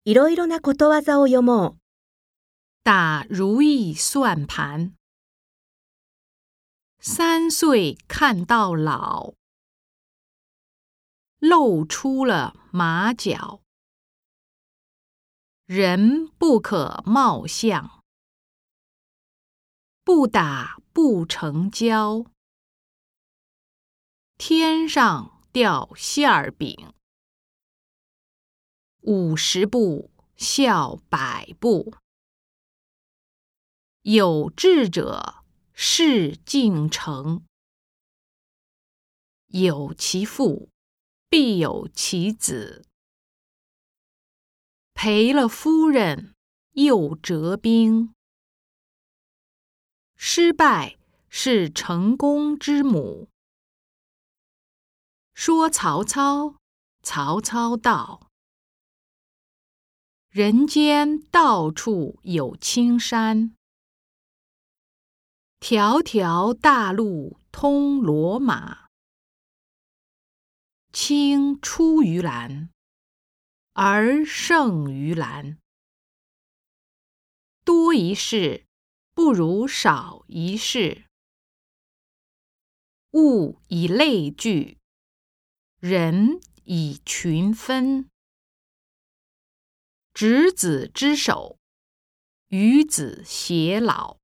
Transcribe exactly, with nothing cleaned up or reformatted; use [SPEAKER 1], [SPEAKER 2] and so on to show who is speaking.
[SPEAKER 1] いろいろなことわざを読もう。
[SPEAKER 2] 打如意算盘。三岁看到老，露出了马脚。人不可貌相，不打不成交。天上掉馅儿饼，五十步笑百步。有志者事竟成，有其父必有其子。赔了夫人又折兵，失败是成功之母。说曹操，曹操到，人间到处有青山。条条大路通罗马，青出于蓝，而胜于蓝。多一事不如少一事，物以类聚，人以群分。执子之手，与子偕老。